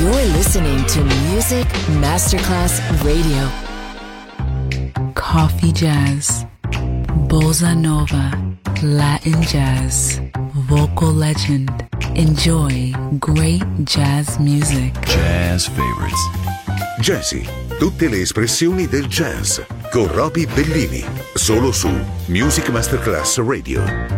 You're listening to Music Masterclass Radio. Coffee jazz, bossa nova, Latin jazz, vocal legend. Enjoy great jazz music. Jazz favorites. Jazzy, tutte le espressioni del jazz con Roby Bellini, solo su Music Masterclass Radio.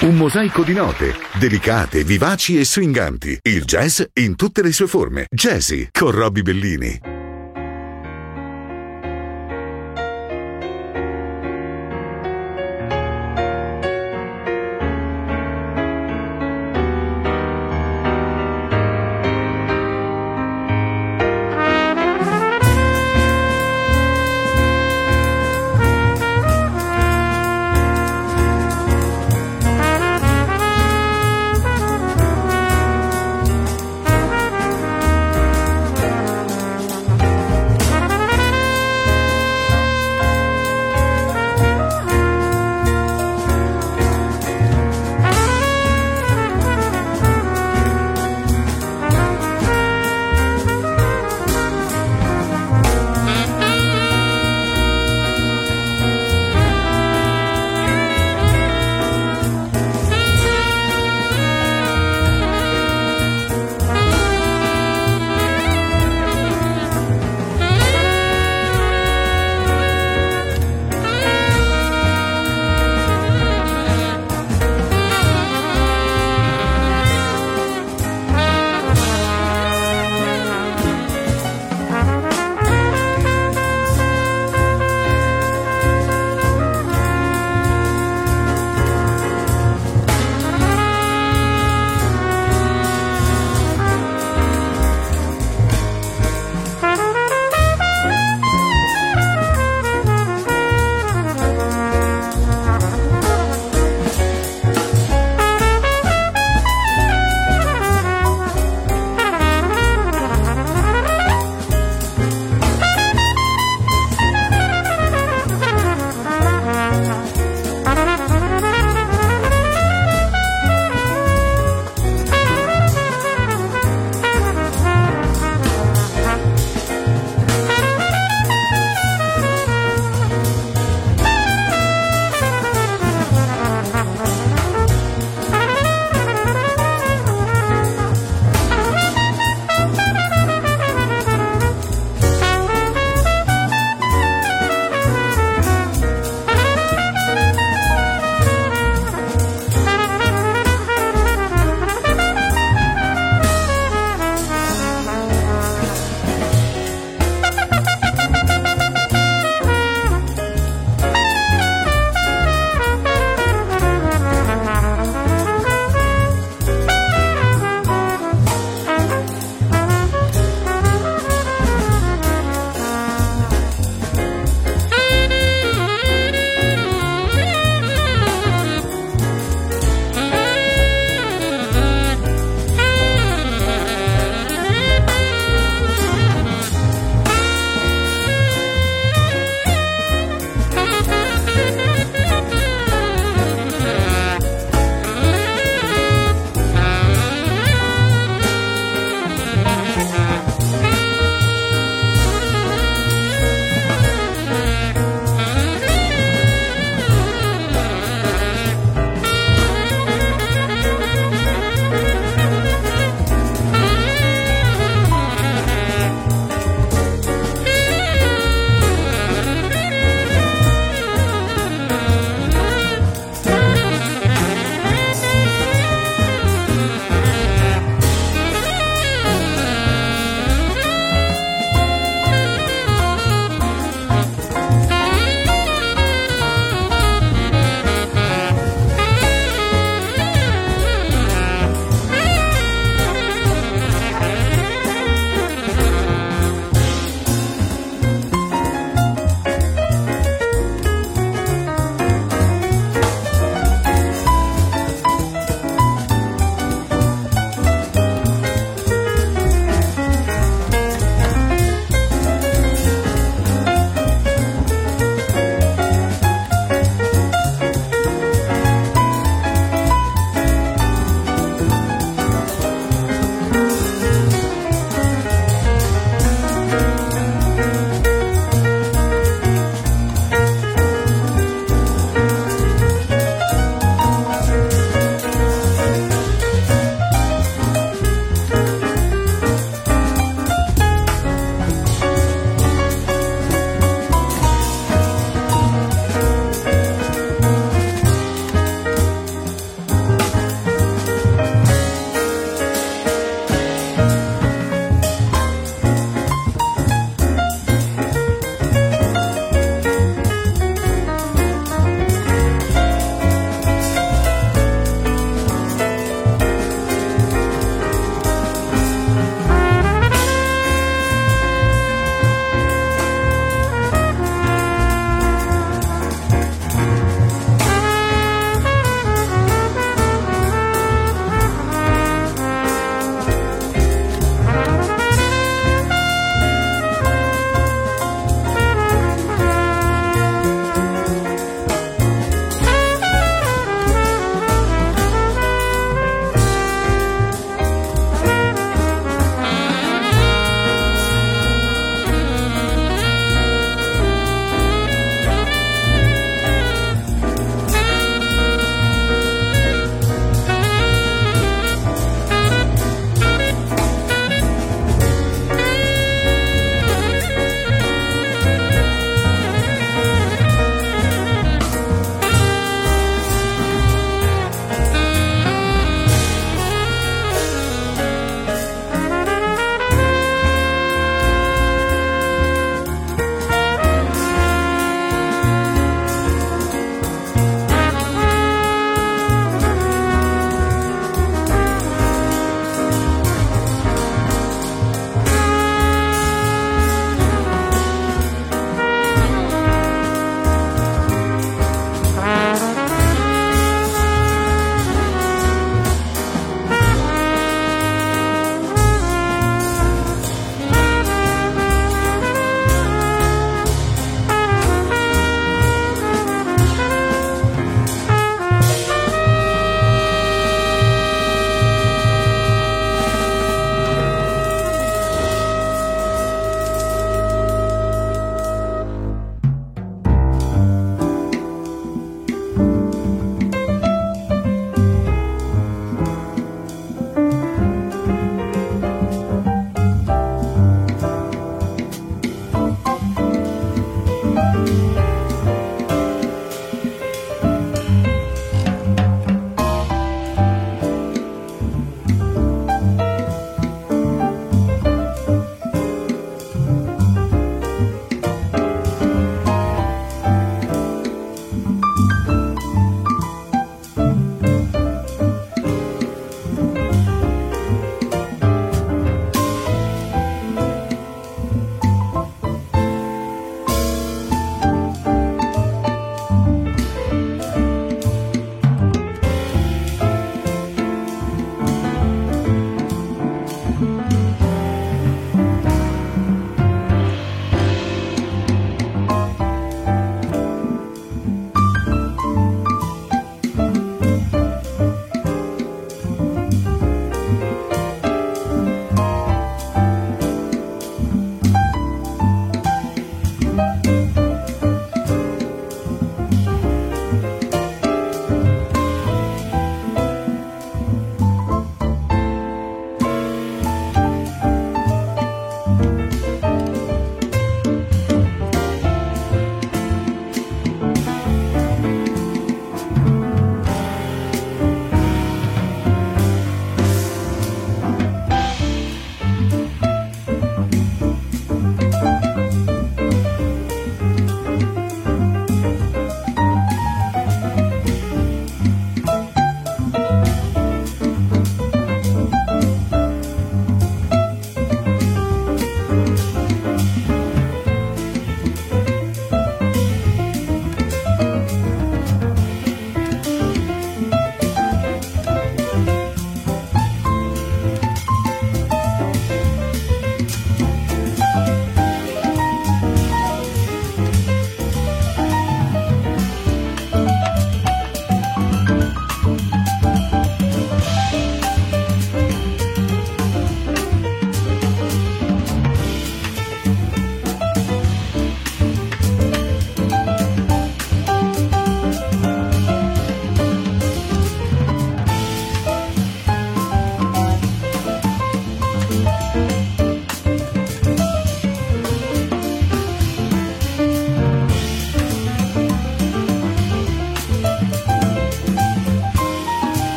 Un mosaico di note, delicate, vivaci e swinganti. Il jazz in tutte le sue forme. Jazzy con Robbie Bellini.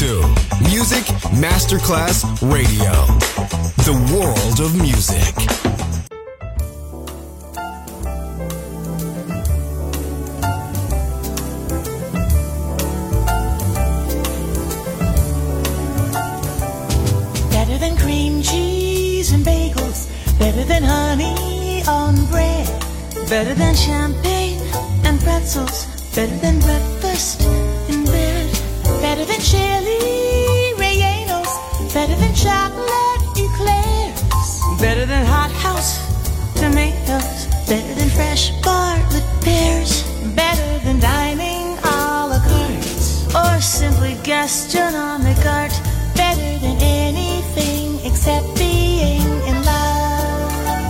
to Music Masterclass Radio. The world of music. Better than cream cheese and bagels. Better than honey on bread. Better than champagne and pretzels. Better than breakfast in bed. Better than chili rellenos. Better than chocolate eclairs. Better than hothouse tomatoes. Better than fresh Bartlett pears. Better than dining a la carte or simply gastronomic art. Better than anything except being in love.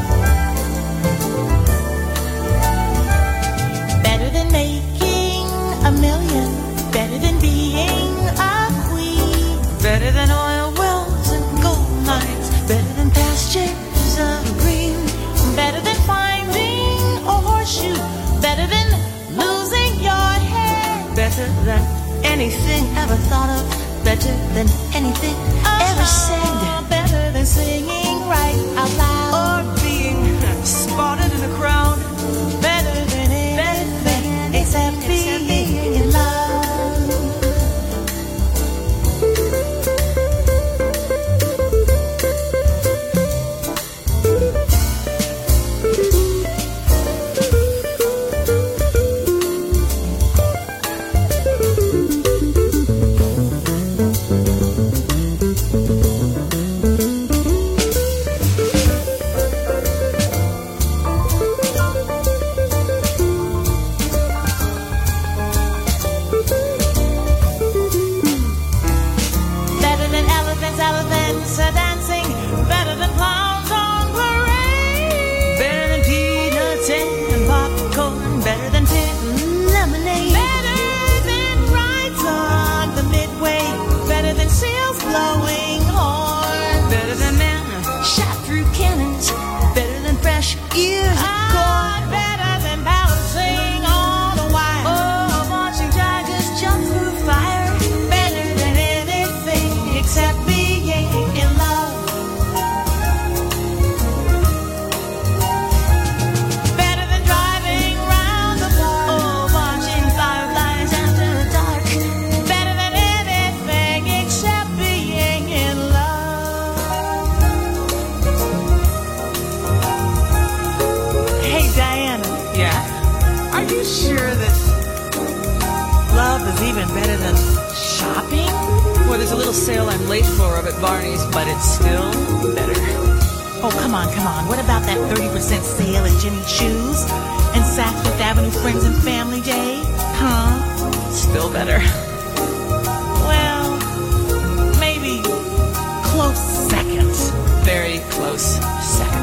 Better than making a million. Better than being a queen. Better than oil wells and gold mines. Better than pastures of green. Better than finding a horseshoe. Better than losing your head. Better than anything ever thought of. Better than anything ever said. Better than singing right out loud or being spotted in a crowd. Better than anything except being in love. Sale I'm late for up at Barney's, but it's still better. Oh, come on. What about that 30% sale at Jimmy Choo's and Saks Fifth Avenue Friends and Family Day? Huh? Still better. Well, maybe close second. Very close second.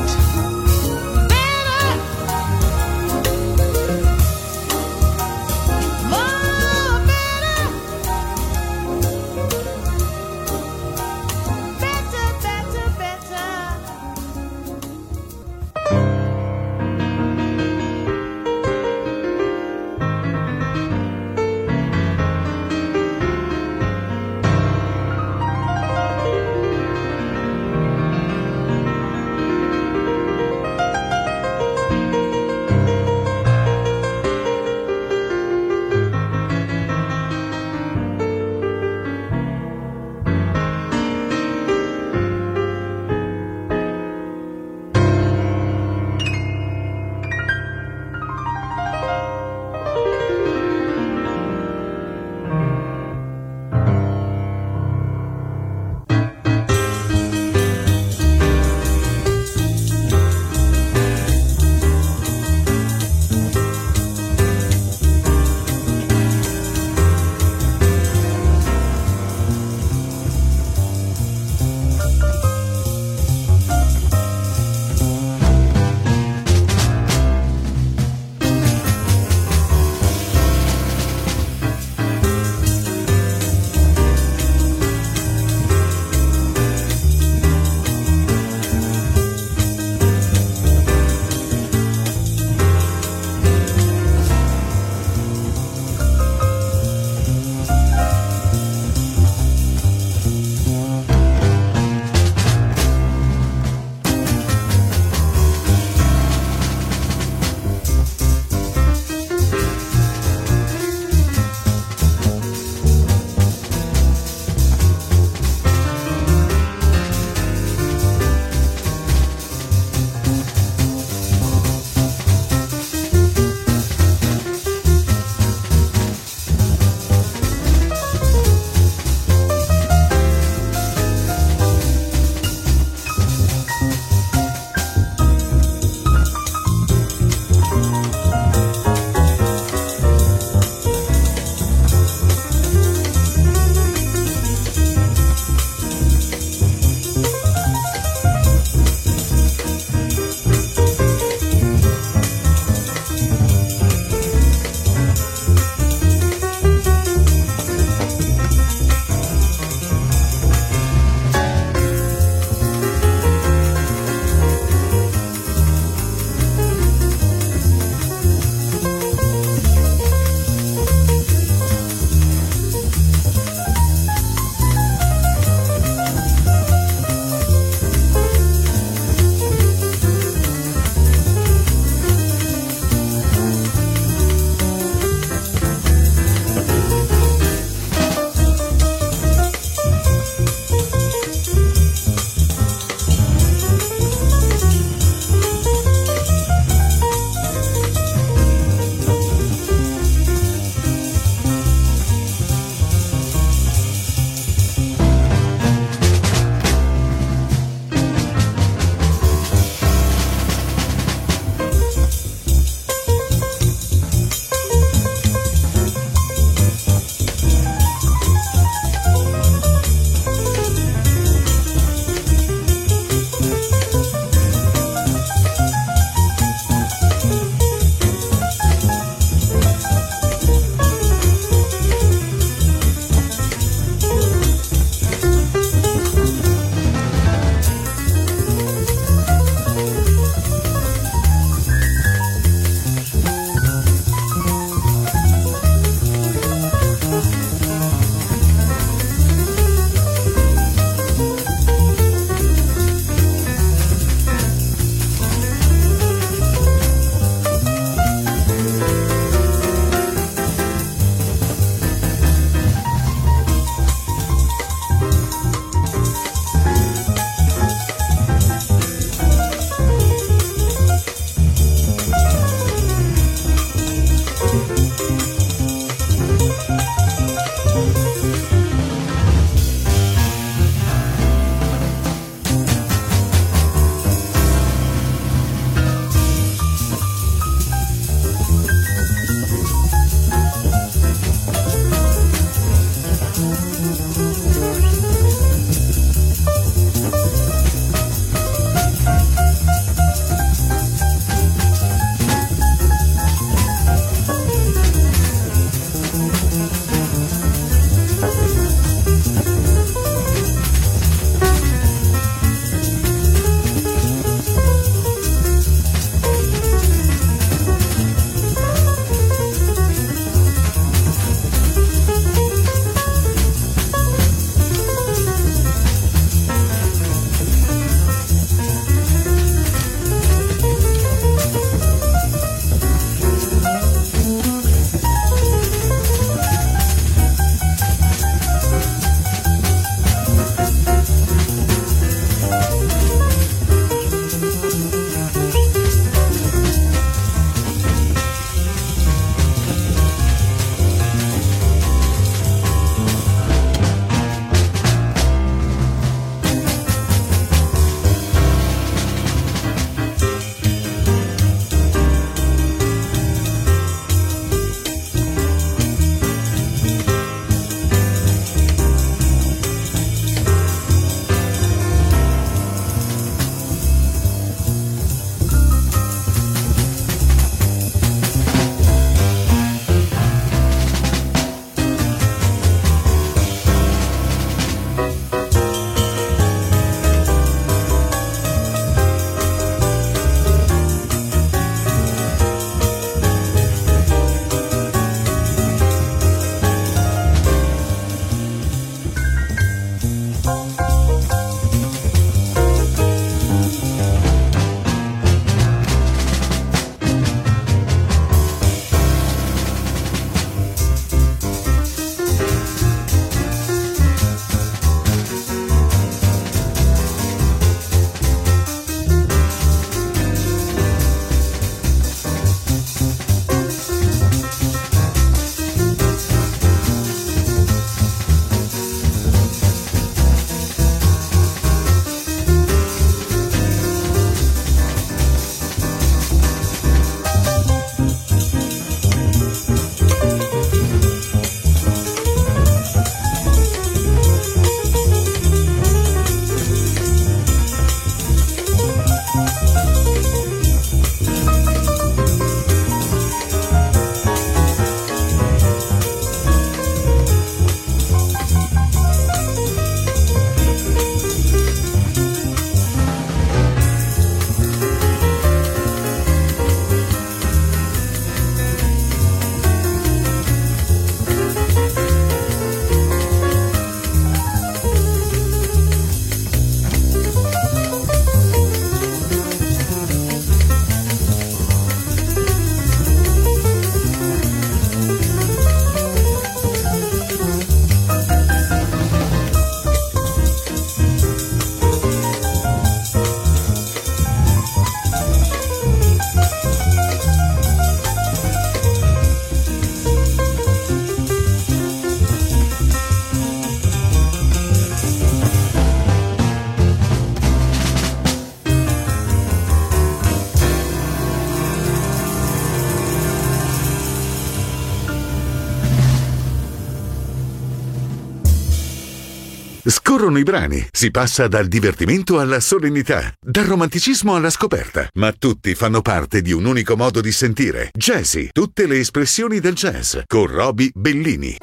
Scorrono i brani, si passa dal divertimento alla solennità, dal romanticismo alla scoperta, ma tutti fanno parte di un unico modo di sentire. Jazzy, tutte le espressioni del jazz, con Roby Bellini.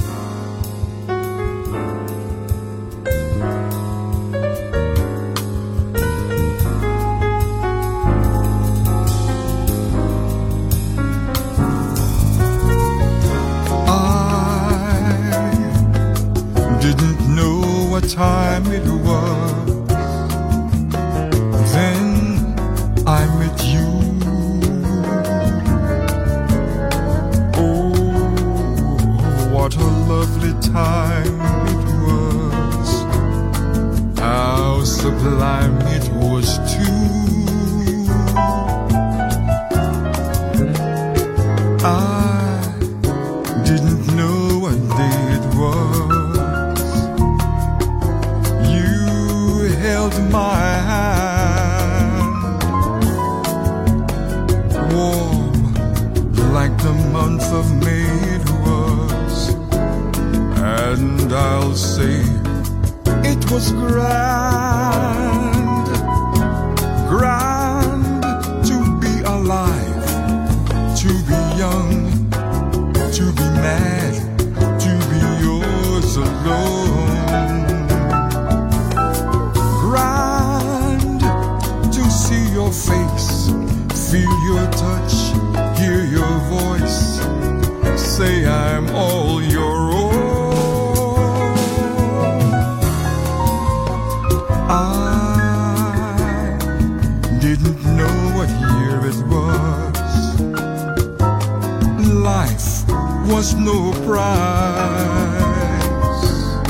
Time it was, then I met you. Oh, what a lovely time it was, how sublime it was too. I didn't know what day it was. Held my hand, warm like the month of May it was, and I'll say it was grand, grand to be alive, to be young, to be mad, to be yours alone. Your face, feel your touch, hear your voice, say I'm all your own. I didn't know what year it was. Life was no prize.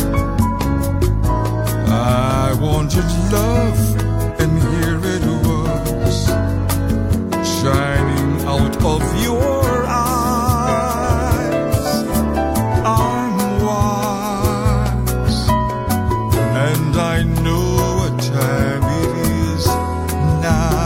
I wanted love, and here it was, shining out of your eyes. I'm wise, and I know what time it is now.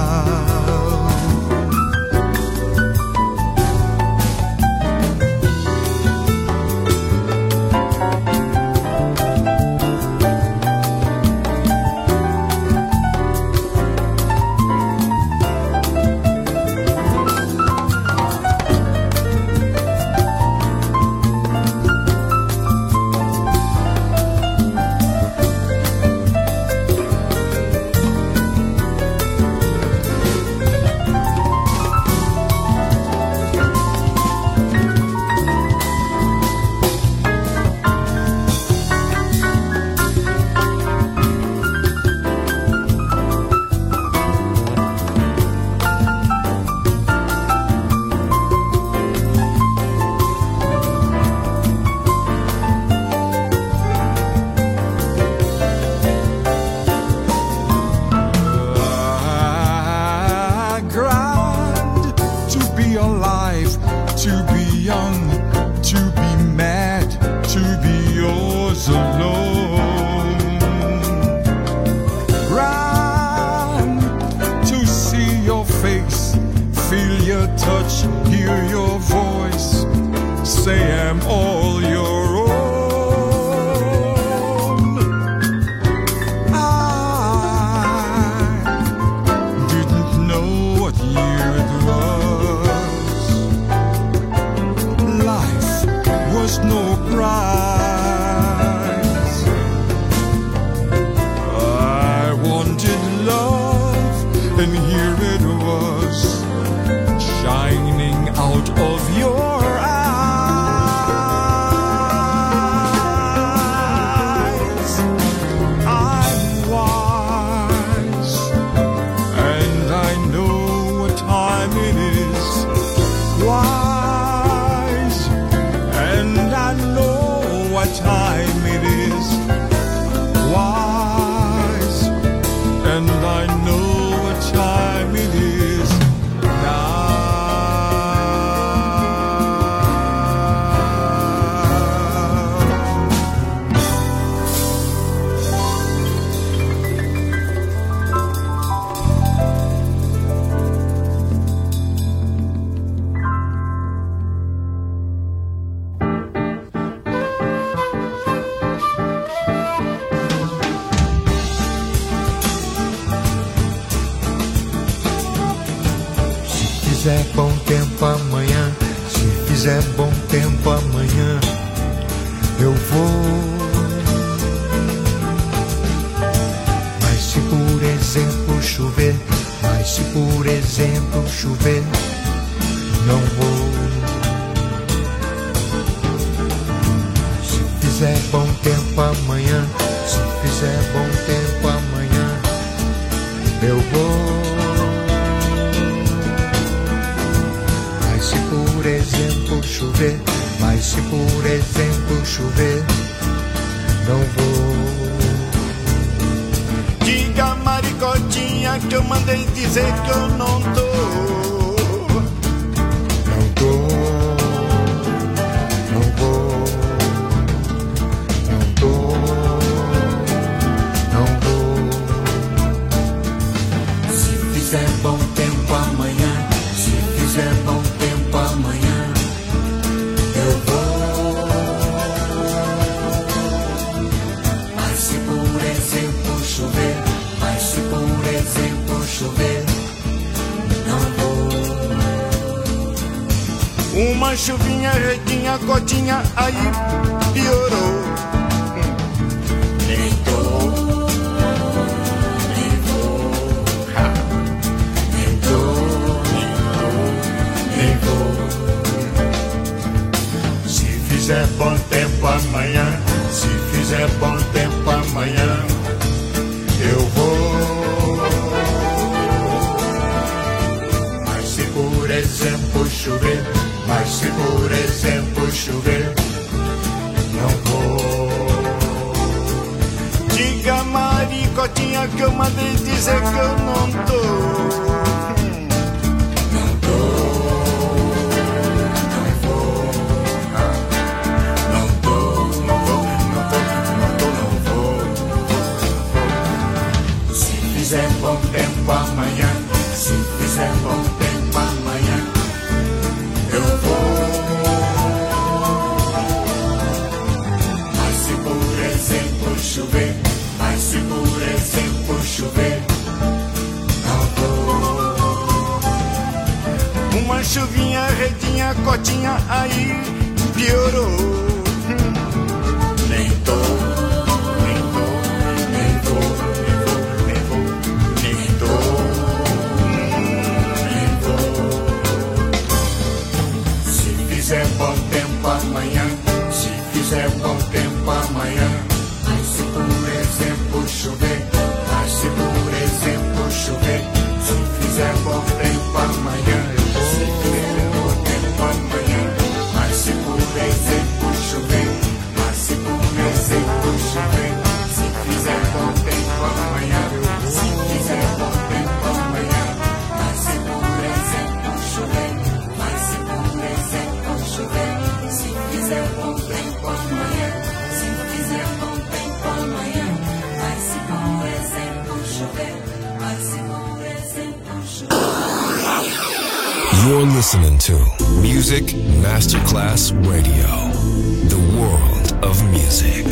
fizer bom tempo amanhã, se fizer bom tempo amanhã, eu vou. Mas se por exemplo chover, mas se por exemplo chover, não vou. Se fizer bom tempo amanhã, se fizer bom tempo amanhã, eu vou. Mas se por exemplo chover, mas se por exemplo chover, não vou. Diga Maricotinha que eu mandei dizer que eu não tô. Não tô, não vou, não tô, não vou. Se fizer bom tempo amanhã, se fizer bom tempo amanhã, eu vou. Mas se por exemplo chover, mas se por exemplo chover, não vou. Uma chuvinha, redinha, gotinha, aí piorou. Nem tô, nem vou, nem tô, nem vou. Se fizer bom tempo amanhã, se fizer bom tempo amanhã, eu vou. Mas se por exemplo chover, mas se por exemplo chover, não vou. Diga Maricotinha que eu mandei dizer que eu não tô. Não tô, não vou, não tô, não vou, não tô, não vou. Se fizer bom tempo amanhã, se fizer bom tempo amanhã, eu vou. Mas se por exemplo chover, mas se por exemplo chover, não vou. Uma chuvinha, redinha, cotinha, aí piorou. Nem tô, nem tô, nem vou, nem vou, nem tô, nem vou. Se fizer bom tempo amanhã, se fizer bom tempo amanhã, mas se por exemplo chover, mas se por exemplo chover, se fizer bom tempo amanhã, se fizer bom tempo amanhã, mas se por exemplo chover, mas se por exemplo chover, se fizer bom tempo amanhã, se fizer bom tempo amanhã, mas se por exemplo chover, mas se por exemplo chover, se fizer bom tempo amanhã, se fizer bom tempo amanhã, mas se por exemplo chover, mas se por exemplo chover. You're listening to Music Masterclass Radio, the world of music.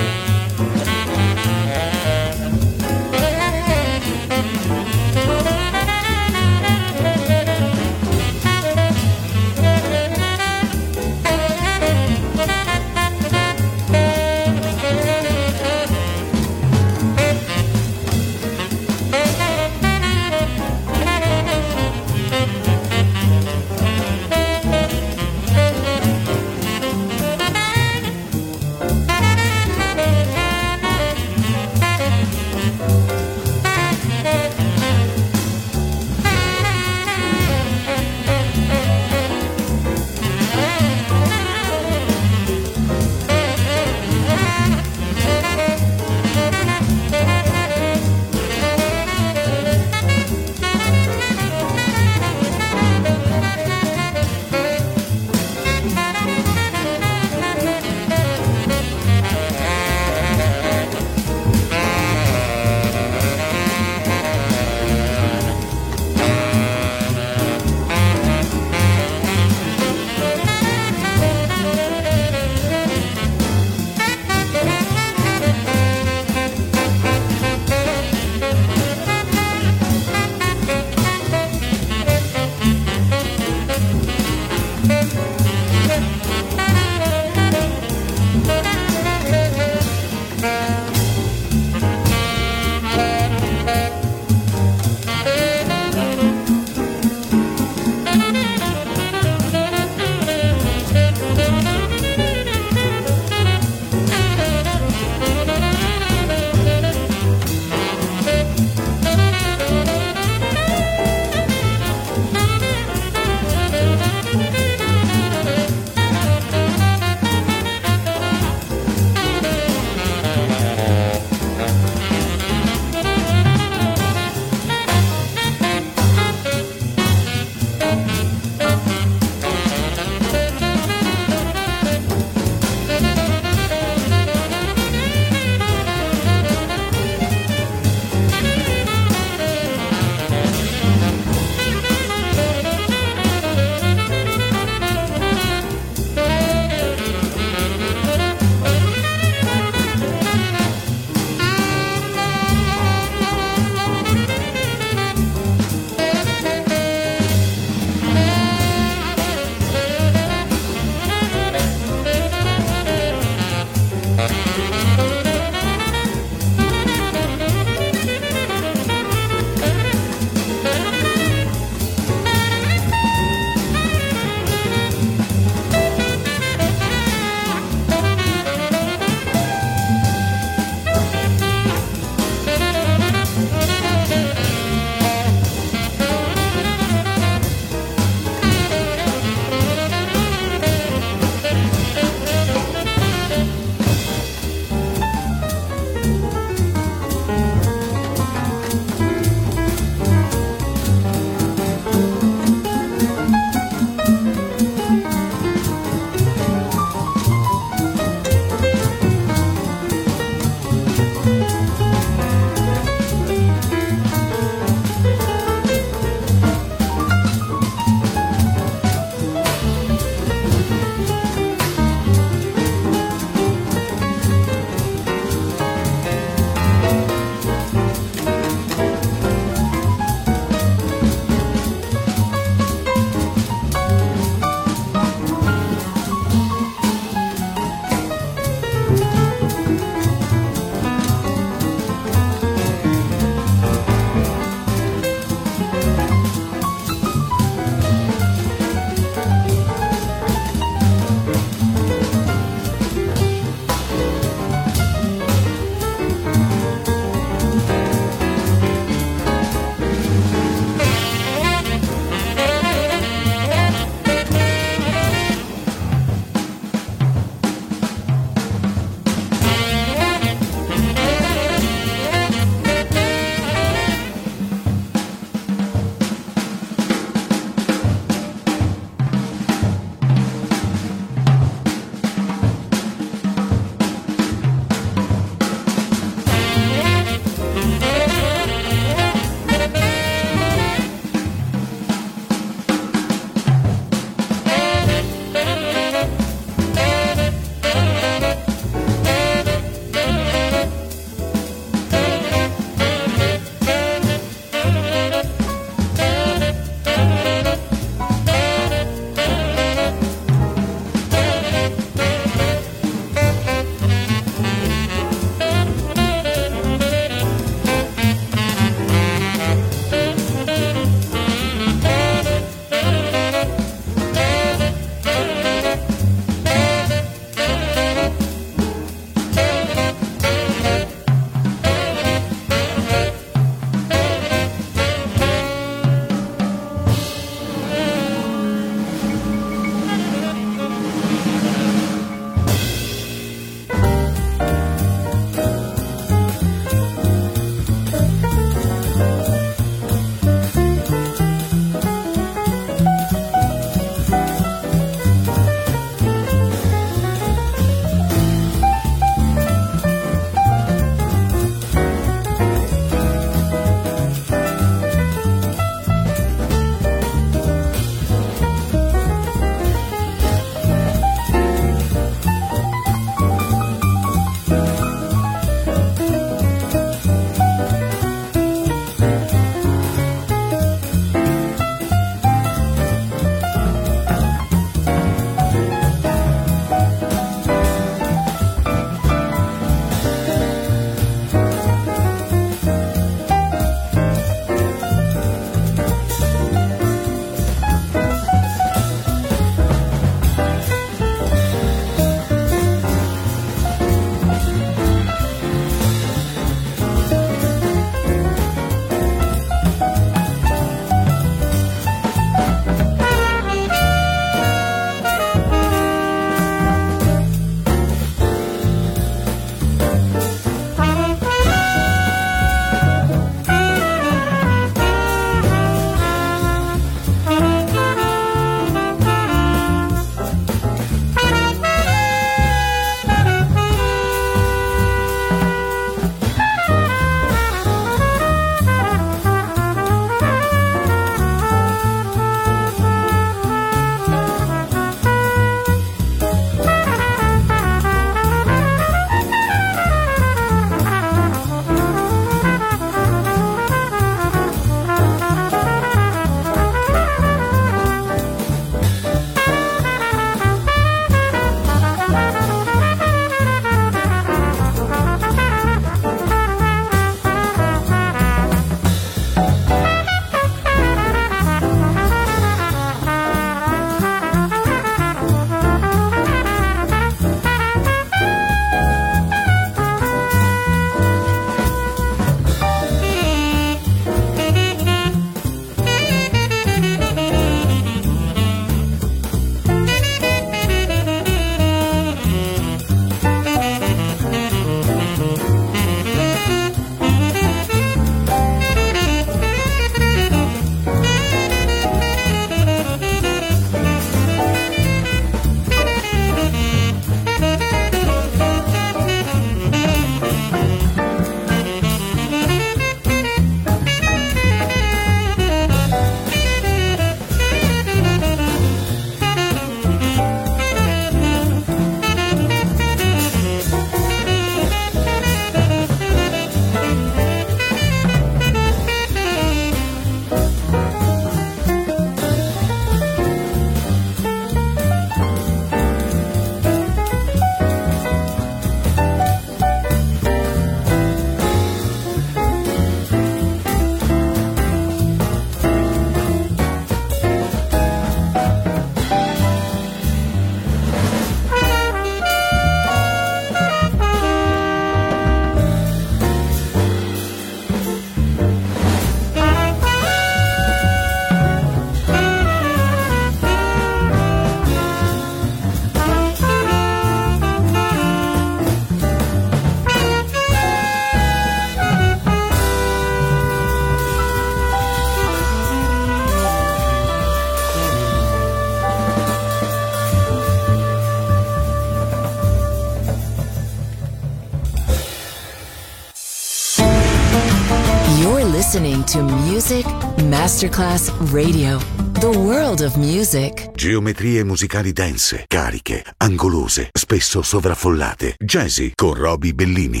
to Music Masterclass Radio. The world of music. Geometrie musicali dense, cariche, angolose, spesso sovraffollate. Jazzy con Roby Bellini.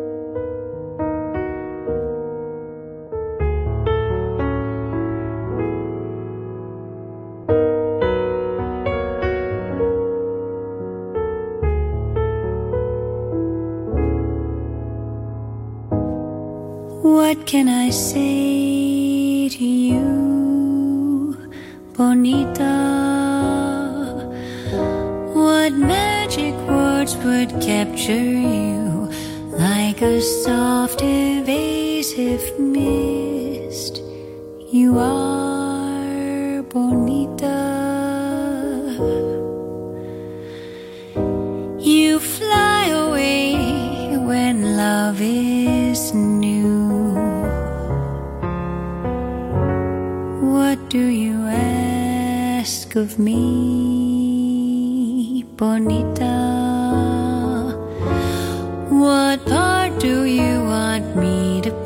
What can I say to you, Bonita? What magic words would capture you like a soft, evasive mist? You are Bonita. You fly away when love is new. What do you ask of me, Bonita? What part do you want me to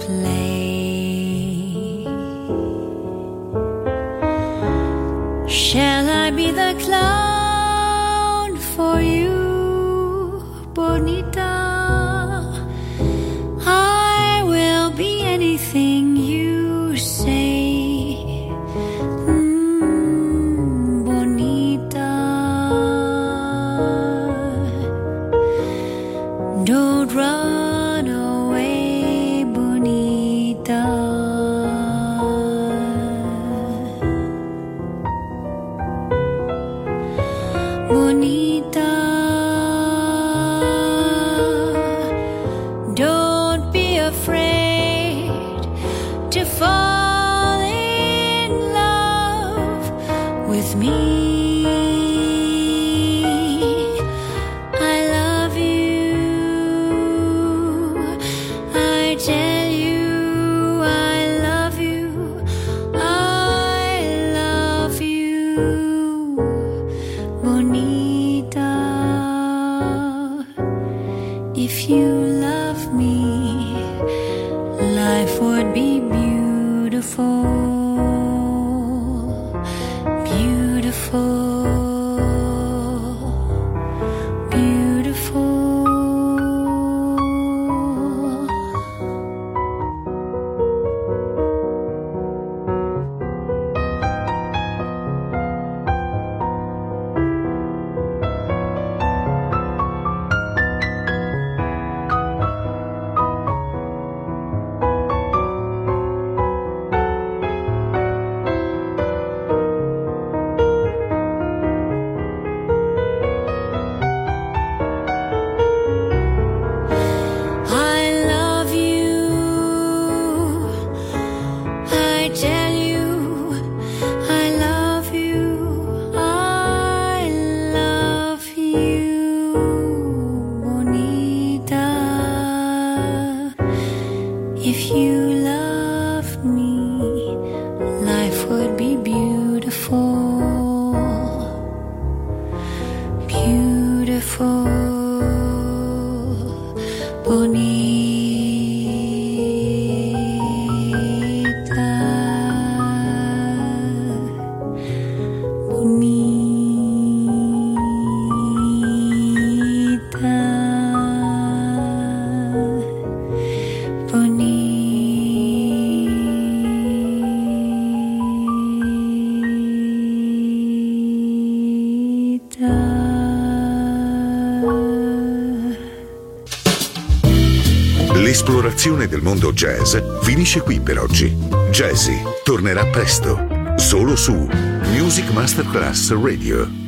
play? Shall I be the clown for you, Bonita? I will be anything you say. Don't run away, Bonita. Bonita, don't be afraid to fall in love with me. If you love me, life would be beautiful, beautiful, beautiful. If you loved me, life would be beautiful, beautiful, bonita, bonita. L'esplorazione del mondo jazz finisce qui per oggi. Jazzy tornerà presto, solo su Music Masterclass Radio.